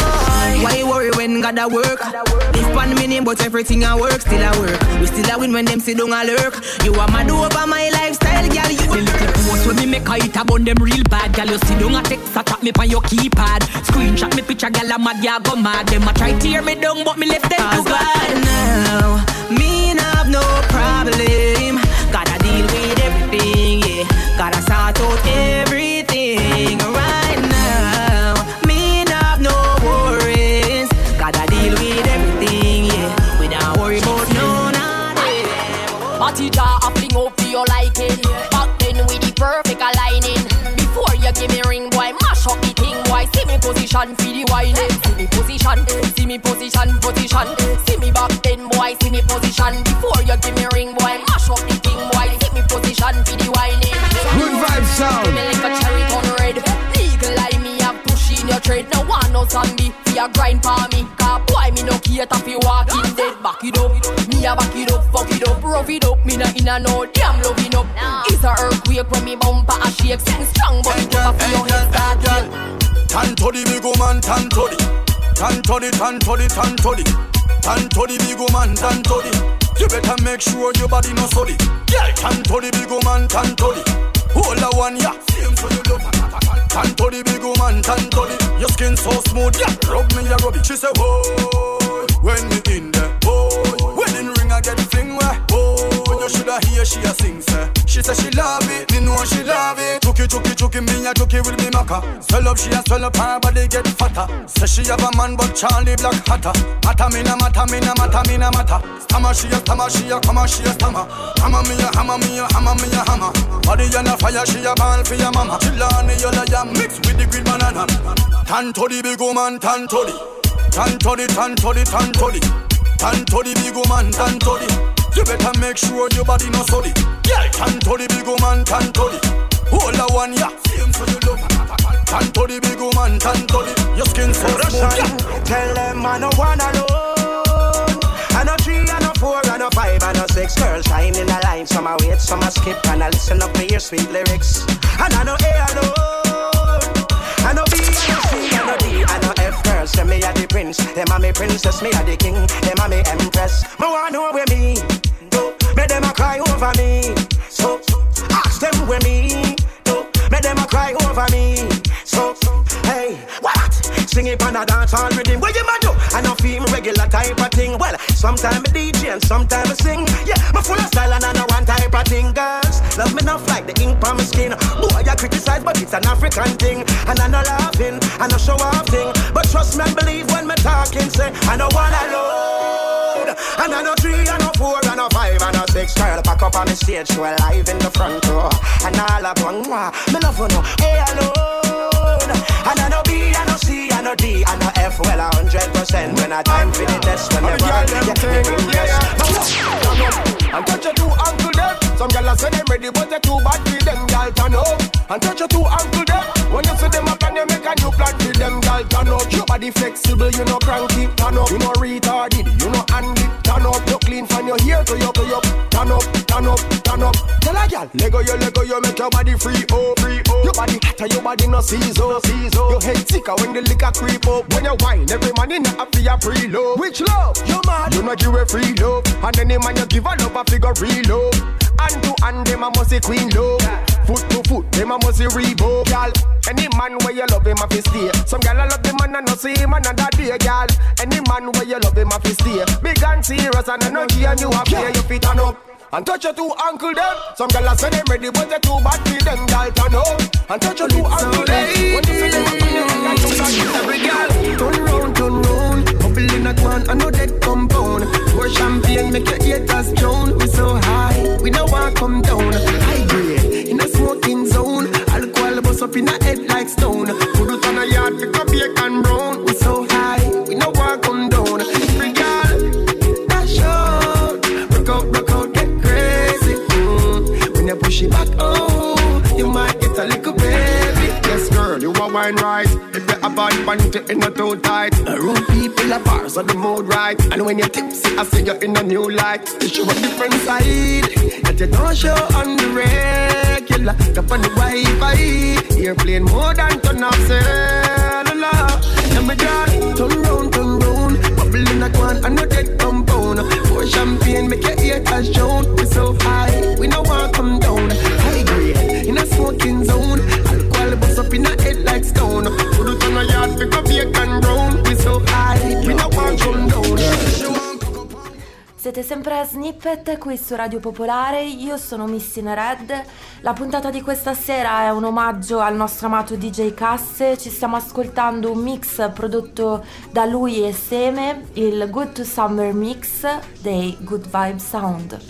Why worry when gotta work? Live on me name, but everything I work, still I work. We still a win when them sit down a lurk. You are mad over my lifestyle, girl. You the little post when me make a hit about them real bad. Girl, you sit down a text, attack me on your keypad. Screenshot me picture, girl, I'm mad, ya go mad. Them a try tear me down, but me left them to God. Now, me not have no problem. Gotta deal with everything, yeah. Gotta sort out everything right now. Me not have no worries. Gotta deal with everything, yeah. We don't worry about none of them. Party jar a fling up to your liking. Back then with the perfect aligning. Before you give me ring, boy, mash up the thing, boy. See me position for the whining. See me position, see me position, position. See me back then, boy, see me position. Before you give me ring, boy, mash up the thing, boy. See me position for the whining. Good vibe sound. Me like a cherry on red. Legal eye me have push in your trade. No one no zombie. Fi a grind for me. Cause boy me no cater fi walking dead. Back it up. Me a back it up, fuck it up, rough it up. Me na in a no damn loving up. It's a earthquake when me bumper a shake. Sing strong but it up for your head start shake. Tan to the big woman, tan to the. Tan to the, tan to the, tan to the. Tan to the big woman, tan to the. You better make sure your body no solid. Yeah, tan to the big woman, tan to the. Hold the one, yeah. Same so you love. Tan to the big woman, tan to the. Your skin so smooth, yeah. Rub me, yeah, rub it. She say, whoa, when me in there, whoa. Wedding ring I get fling where, whoa. You shoulda hear she a sing, say. She say she love it, me know she love it. Chuki, me a chuki will be maka. Swell up, she a swell up, her body get fatter. Say she have a man, but Charlie Black hotter. Mata me na mata, me na mata, me na mata. Stammer, she a come, she a stammer. Hammer me a hammer, me a hammer, me a hammer. Body on a fire, she a ball for your mama. Chillani, you like ya mixed with the green banana. Tan to the big woman, tan to the. Tan to the, tan to the, tan to the. Tan to the big woman, tan to the. You better make sure your body no solid. Yeah, tan to the big woman, tan to the. Hold the one, yeah. Same so you love. Tan to the big woman, tan to the. Your skin so smooth, yeah. Tell them I no one alone. I no 3, I no 4, I no 5, I no 6. Girls shine in a line, some I wait, some I skip, and I listen up to your sweet lyrics. And I no A alone. I no B, I no C, I no D, I no F. Girls say me a the prince, them a me princess, me a the king, them a me empress. Me want know where me do, make them a cry over me. So ask them where me do, make them a cry over me. So hey, what? sing it on a dance hall rhythm. What you ma do? I know feel me regular type of thing. Well, sometimes I DJ and sometimes I sing. Yeah, me full of style and I know one type of thing. Girls, love me enough like the ink on my skin. Boy, I criticize, but it's an African thing. And I know laughing, I know show off thing. But trust me and believe when me talking, say I know one alone. And I know 3, I know 4, I know 5, I know 6. Girl, pack up on the stage, show live in the front row. And all I want, me love you know, hey alone. And I know B, I know C, I know D, I know F, well 100%. When I time for the test, when the world get me and touch your 2 uncle them. Some gyal say them ready, but they too bad for them. Gyal turn up and touch your 2 uncle them. When you see them up and you make a new plan for them. Gyal turn up. Your body flexible, you know cranky. Turn up. You know retarded, you know handy. Turn up. You clean from your hair to your turn up, turn up, turn up. Tell a gyal, Lego you make your body free, oh, free, oh. Your body hotter, your body no season, season. Your head sicker when the liquor creep up. When you wine, every man in a feel pre-love. Which love? You mad? You know give a free love. And any man you give a love, a figure real love. Hand to hand, them a must say queen love. Foot to foot, them a must say Reebok, y'all. Any man where you love him, a fi stay. Some gal I love the man and no see him another day, y'all. Any man where you love him, a fi stay. Big and serious and I know and you a play, you fit turn up. And touch your 2 uncle them. Some gal I say them ready, but they too bad for them, gal turn up. And touch your 2 uncle them. When you see them up in your gal, you can every gal. Turn round, bubble in a can, I know that compound. Pour champagne, make your haters drown. We so high, we don't want come down. High grade, in a smoking zone. Alcohol bust up in a head like stone. Put it on a yard, pick up bacon brown. We so high, we don't want come down. Every gal, dash out, rock out, get crazy. When you push it back, oh, you might get a little baby. Yes, girl, you a wine right. If you have bad panty in a too tight. Room people are bars on the mood right. And when you're tipsy, I see you in a new light. You show a different side that you don't show on the regular. Up on the Wi-Fi, airplane more than turn off cellular. Let me just turn round, bubble in a can, I know that compound. Pour champagne, make your haters drown. We so high, we no want come down. High grade, in a smoking zone. Alcohol bust up in a head like stone. Put it on a yard, pick up bacon brown. We so high, we no want come down. Siete sempre a Snippet qui su Radio Popolare, io sono Missing Red. La puntata di questa sera è un omaggio al nostro amato DJ Casse. Ci stiamo ascoltando un mix prodotto da lui e Seme, il Good to Summer Mix dei Good Vibe Sound.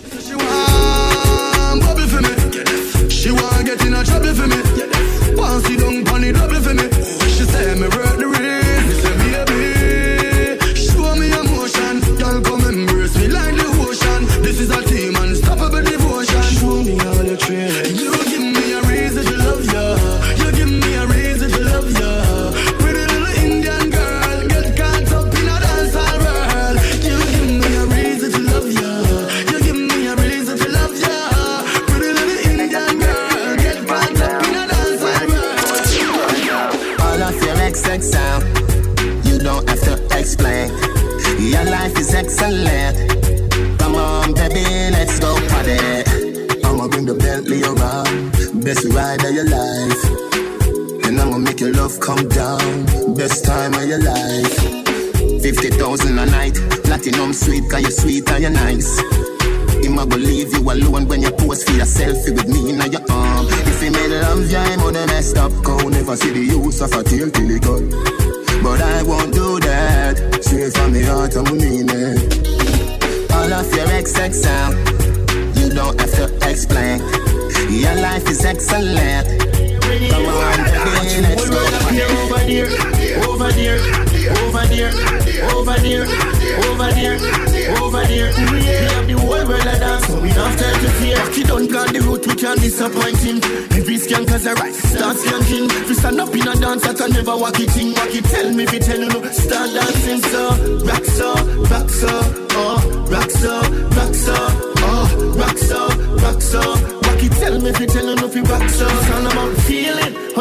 She want get in a trouble for me. Want sit down on the double for me. She say me work the race. Me say baby, show me emotion. Girl come embrace me like the ocean. This is a team unstoppable devotion. Show me all your training. You give me a reason to love ya. You give me a reason to love ya. Pretty little Indian girl, get caught up in a dancehall world. You give me a reason to love ya. You give me a reason to love ya. Pretty little Indian girl, get caught up in a dancehall world. All of your XX sound, you don't have to explain. Your life is excellent. Come on, baby, let's go party. I'ma bring the Bentley around. Best ride of your life. And I'ma make your love come down. Best time of your life. 50,000 a night. Platinum sweet, cause you're sweet and you're nice. I'ma go leave you alone when you pose for your selfie with me in your arm. If you made love, yeah, I'm gonna messed up. Go never see the use of a tail till it cut. But I won't do that. Straight from the heart, I'm mean it. All of your XX sound, you don't have to explain. Your life is excellent. Come on, baby, let's go. Over there, over there, over there, over there, over there, over there. We have the whole world a dance, so we don't have time to fear. He don't plan the route, we can't disappoint him. Every skank has a right, start skanking. If you stand up in a dance, I can never walk it in. Walk it, tell me if you tell you no. Start dancing so, rock so, rock so, oh, rock so, rock so, oh, rock so, rock so. Walk it, tell me if you tell you no. If you rock so, it's all about feeling. How you feel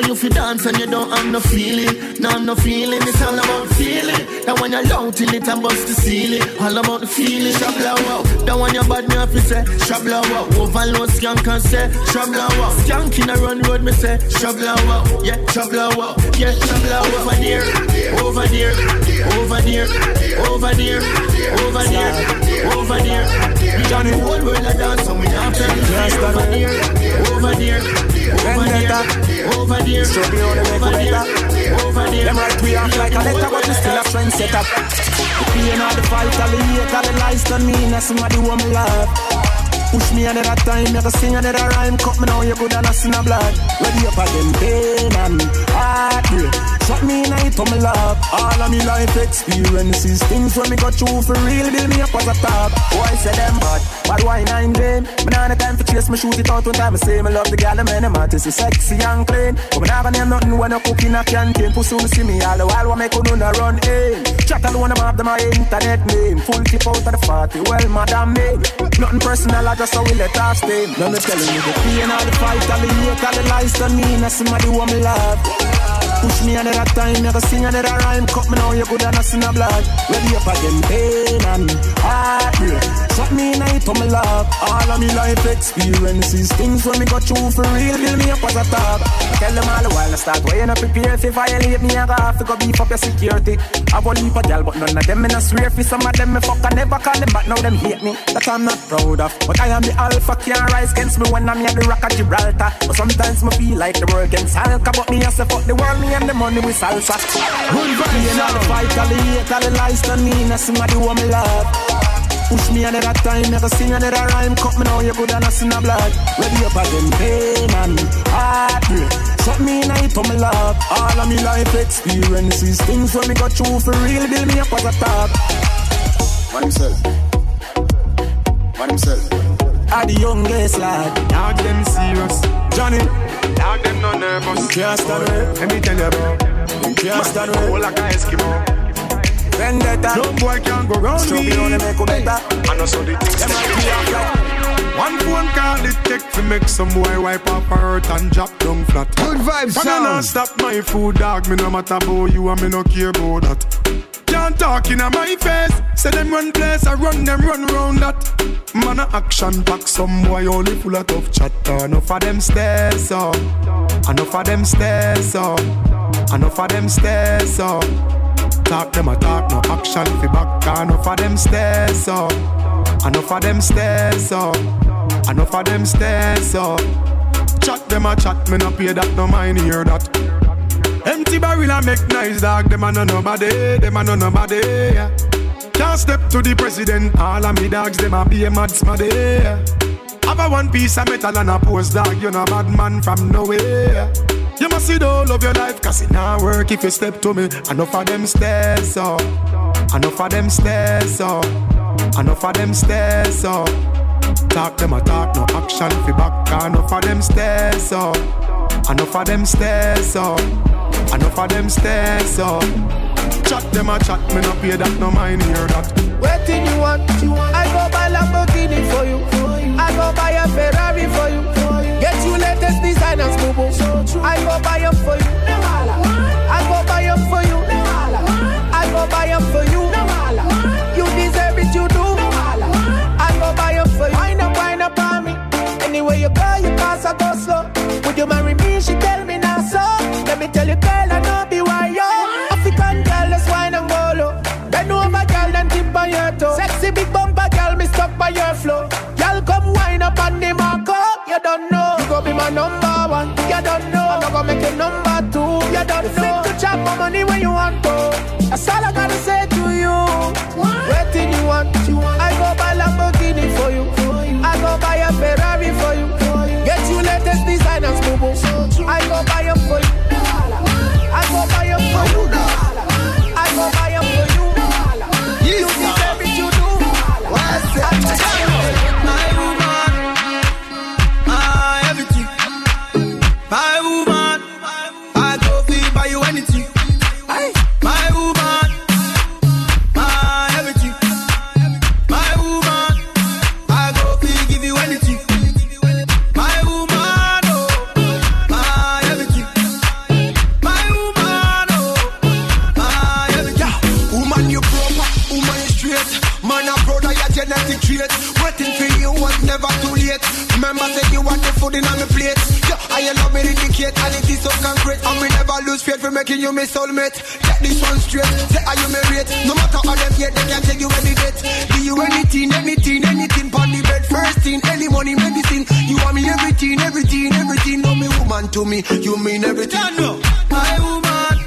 dance and you don't have no feeling. No feeling, it's all about feeling. That when you're loud till it and bust the ceiling. All about the feeling, shabla wow. That when you're bad, me have to say, shabla wow. Overload skank and say, shabla wow. Skank in a run road, me say, shabla wow. Yeah, shabla wow. Yeah, shabla wow. Over there, over there, over there, over there, over there, over there. Johnny, the whole world a dance and we have to over there, over there, over there, over there, over there, over there. Them right we off like a letter, but we still a friend set up. The pain of the fight, all the hate, all the lies done me, and somebody want me love. Push me another time, you can sing another rhyme. Cut me now, you good and I see no blood. Ready up again, pain and heartbreak. Shot me in night on my love. All of me life experiences, things when me got through for real, build me up as a top. Boy say them bad, but why nine them? Me nah no time for chase, me shoot it out one time. I say me love the gal, man, them artists is sexy and clean. But me never name nothing when I cook in a canteen. Pussy me see me all the while, what make you do no run in. Chat alone, I'm after my internet name. Full tip out of the party, well, madam me. Nothing personal, I just how we let us stay. Let me tell you the pain of the fight, all the hate, all the lies done me, and somebody want me love. Push me another time, you can sing another rhyme. Cut me now, you good and I see no blood. Ready up again, pain and heartbreak. Shot me in night on my love. All of me life experiences, things when me got through for real, build me up as a top. Tell them all the while I start weighing up prepare. If you violate me, I have to go beef up your security. I won't leave a girl, but none of them in a swear. For some of them me fuck, I never call them back, now them hate me. That I'm not proud of, but I am the alpha, can't rise against me when I'm at the rock of Gibraltar. But sometimes me feel like the world against Alka, but me as a fuck the world, me and the money with salsa. Good vibes, all the fight, all the hate, all the lies done me, and somebody want me love. Push me another time, never sing another rhyme. Cut me now, you good and I see no blood. Ready up again, pain and heartbreak. Shot me in night on my love. All of me life experiences, things when me got through for real, build me up as a top. Man himself. Man himself. Are the youngest lad. Dog them serious. Johnny. Dog them no nervous. You can't stand it. Let me tell you bro. You can't stand it. Whole like a Eskimo. Vendetta. No boy can go round me. Struggle on the make better. I know so the things them might be flat. One phone call it take to make some boy wipe up her hurt and drop down flat. Good vibes, sound. I not stop my food, dog. Me no matter about you and me no care about that. Can't talk in my face. Say them run place, I run them run round that. Man a action pack, some boy only full of tough chatter. Enough of them stairs up. Enough of them stairs up. Enough of them stairs up. Talk them a talk, no action fi back. Enough of them stairs up. Enough of them stairs up. Enough of them stairs up. Chat them a chat, me no pay that, no mind hear that. Empty barrel and make nice dog. Them a no nobody, them a no nobody. Yeah. Can't step to the president. All of me dogs, them a be a mad smaddy. Yeah. Have a one piece of metal and a post dog. You no bad man from nowhere. You must see the whole of your life, cause it not work if you step to me. Enough of them stairs up. Enough of them stairs up. Enough of them stairs up. Talk them a talk, no action fi back. Enough of them stairs up. Enough of them stairs up. Enough of them stairs up. Chat them a chat, me no pay that, no mind hear that. Waiting you want, I go buy Lamborghini for you. I go buy a Ferrari for you. Get you latest designers, boo. I go buy them for you. I go buy them for you. I go buy them for you. You deserve it, you do. I go buy them for you. Wine up on me. Anyway you go, you pass, I go slow. Would you marry me? She tell me now so. Let me tell you, girl, I know be why yo. African girl, let's wine and go low. Bend over, girl, then tip on your toe. Sexy big bumper, girl, me stuck by your flow. Girl, come wine up on the marco. You don't know, you go be my number one. You don't know, I'm not gonna make it number two. You don't know, fit to chop my money when you want to. That's all I gotta say to you. Waiting you want, I go buy Lamborghini for you. I go buy a Ferrari for you. Get you latest designers, boo boo. I go buy them for you. I go buy them for you. I go buy them for you. You deserve it, you do. My woman, my everything. My woman, I go feel buy you anything. My woman, Man, I'm proud of your genetic trait. Waiting for you was never too late. Remember, say you want the food in on the plate. Yeah, I love it indicate, and it is so concrete. And we never lose faith for making you my soulmate. Get this one straight. Say, are you married? No matter how them yet, they can tell you any date. Do you anything, pon the bed. First thing, any money, medicine. You want me everything. No, me woman to me, you mean everything. Yeah, no. My woman,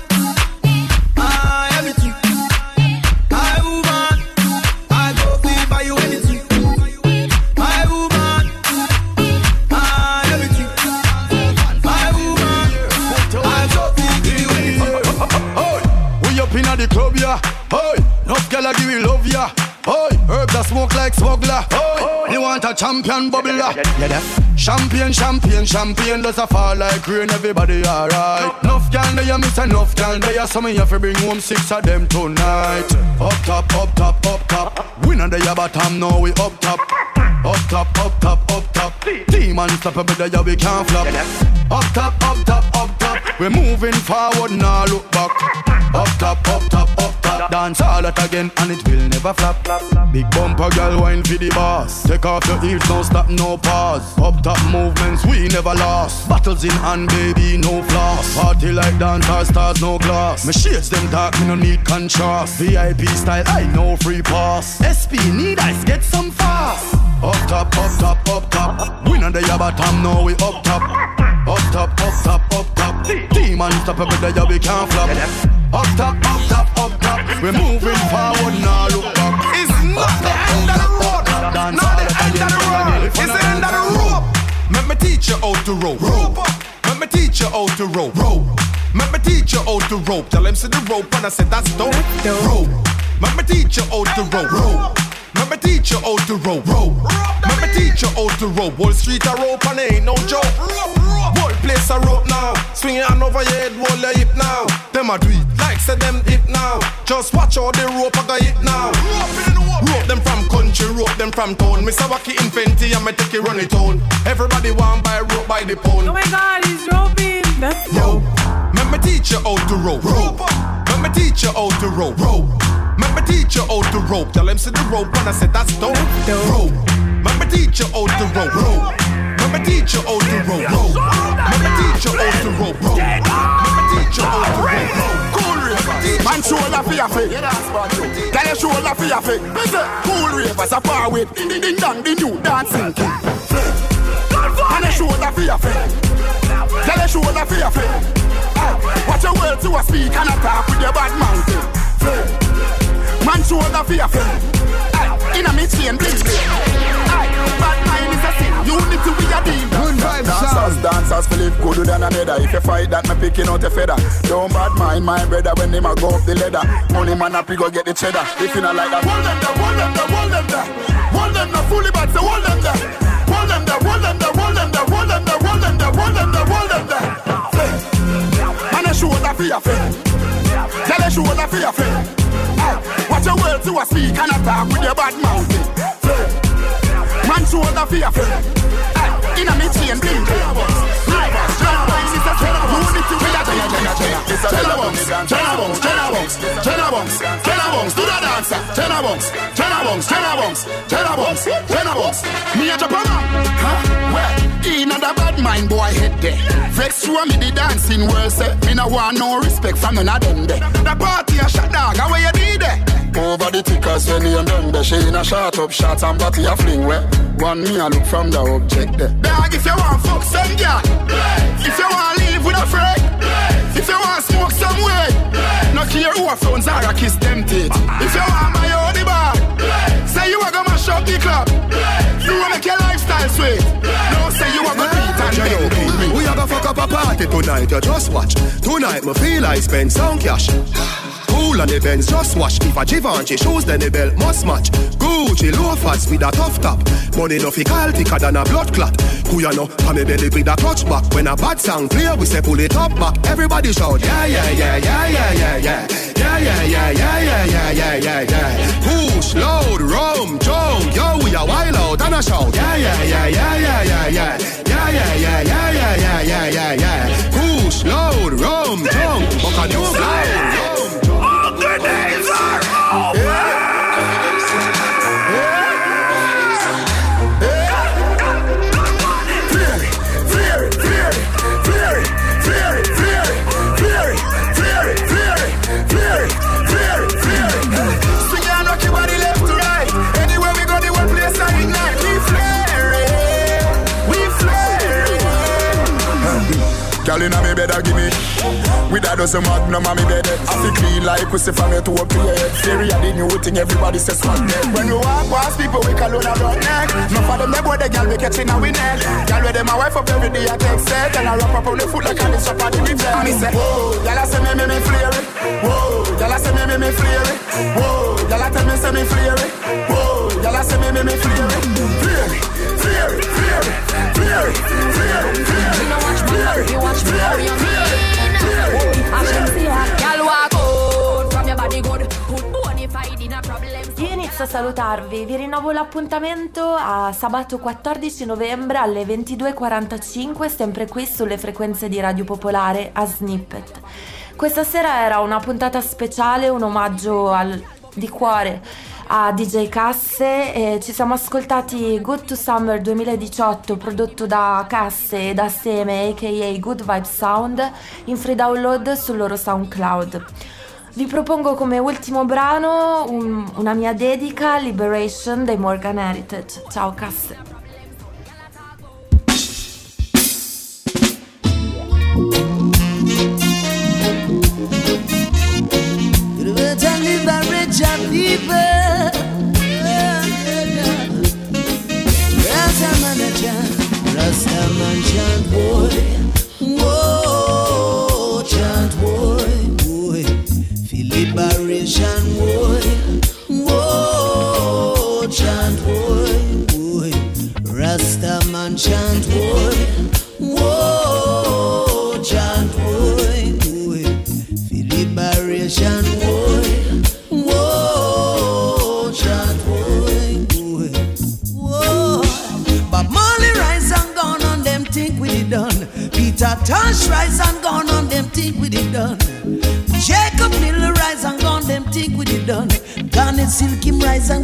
everything. My woman, I go be by you anything. My woman, everything. My woman, I go be you anything. We up inna the club, yeah. Hey, enough gyal give me love, yeah. Hey, herbs that smoke like smuggler. Hey, you want a champion bubbler? Yeah, Champagne does a fall like rain, everybody alright. Enough gal there, you miss enough gal there. So me have to bring home 6 of them tonight. Up top. We not there bottom, now we up top. Up top. Team unstoppable there, we can't flop. Up top. We're moving forward, now look back. Up top. Dance all that again and it will never flop. Big bumper girl wine for the boss. Take off your heels, no stop, no pause. Up top movements we never lost. Battles in hand, baby, no floss. Party like dancers, stars, no glass. My shades them dark, me no need contrast. VIP style, I know free pass. SP need ice, get some fast. Up top. We not the bottom, now we up top. Up top. Team unstoppable, there we can't flop. Up top. We're moving forward, now look back. It's not the end of the road. Not the end of the road. It's the end of the rope. Let me teach you how to rope. Let me teach you how to rope. Let me teach you how to rope. Tell him see the rope and I said that's dope. Rope. Let me teach you how to rope. Let me teach you how to rope. Let me teach you how to rope. Wall Street a rope and it ain't no joke. Whole place a rope now. Swing your hand over your head, hold your hip now. Them a do it like say them hip now. Just watch all the rope I got it now. Rope them from country, rope them from town. Mr. Wacky Infenti and me take it run it on. Everybody want buy rope by the pound. Oh my God, he's roping. That's dope. Let me teach you how to rope. Let me teach you how to rope. Let me teach you how to rope. Tell him see the rope and I said that's dope. Rope. Let me teach you how to rope. Let me teach you how to rope. Let me teach you how to rope. Let me teach you how to rope. Cool ravers, man shoulder for your feet. Tell your shoulder for your feet. Cool ravers are far with ding dong the new dancing king. Man your shoulder for your feet. Tell your shoulder for your feet. Watch your words to a speak and attack with your bad mouth. Man shoulder for your feet. In a mid-chain bling. Bad mind is a sin. Unity we a deal. Good vibes, dancers feel it gooder than another. If you fight that, me picking out a feather. Don't bad mind my brother when them a go up the ladder. Money man up, you go get the cheddar. If you not like that, hold them there. Hold them there, fully bad, so hold them there. Hold them there. Man a shoulder for your feet. Tell a shoulder for your feet. Watch your words to a speak and attack with your bad mouth. Man shoulder for your feet. In a mid-chain bling. Unity we a Tenabongs, do the dancer. Tenabongs. Me a Japan. Well, in a bad mind boy head there. Vex through me the dancing world say. Me no want no respect from none of them there. The party a shot dog, how you did there? Over the tickers when you done there. She in a shot up shot and body a fling where. One me a look from the object there. Dog, if you want fuck some girl, if you want live with a friend, if you want smoke some way, no care who a phones are a kiss them teeth. If you want my own the bar, say you a go mash up the club. You wanna make your lifestyle sweet. No say you a go beat and bend. We a go fuck up a party tonight, you just watch. Tonight me feel I spend some cash. Cool on the Benz, just watch. If a Givenchy shoes, then the belt must match. Gucci loafers with a tough top. Money no fi call thicker than a blood clot. Who ya know? Come me belly with a clutch back. When a bad song play, we say pull it up back. Everybody shout, yeah. Push, load, rum, jump. Yo, we a wild out and a shout, yeah. Push, load, rum, jump. But can you slide? The days are over. better give me. With a dozen magnum on me bed. I feel clean like pussy from your to a play. Theory of the new thing everybody says fuck them. When we walk past people we call on a broad neck. No for them they boy the girl we catching a we neck. Girl with them my wife up every day I take set. And I wrap up on the foot like I need shop on the beach. And me say, whoa, y'all say me flare it. Whoa, y'all say me flare it. Whoa, y'all tell me say me flare it. Whoa, y'all say me flare it. Flare it. You watch me, how you mean? I should see her, girl walk out from your body good. Bonafide in a problem. Io inizio a salutarvi, vi rinnovo l'appuntamento a sabato 14 novembre alle 22:45, sempre qui sulle frequenze di Radio Popolare a Snippet. Questa sera era una puntata speciale, un omaggio di cuore a DJ Casse e ci siamo ascoltati Good to Summer 2018 prodotto da Casse e da Seme aka Good Vibe Sound in free download sul loro SoundCloud. Vi propongo come ultimo brano una mia dedica, Liberation dei Morgan Heritage. Ciao Casse. Rastaman chant boy, whoa, chant boy, feel liberation boy, whoa, chant boy, Rastaman chant boy, whoa, chant boy, feel liberation boy, whoa, chant boy, whoa, but Molly rise and gone on them think we it done. Peter Tosh rise and gone on them think we it done. Jacob Miller rise and gone them think we it done. Garnet Silk him rise and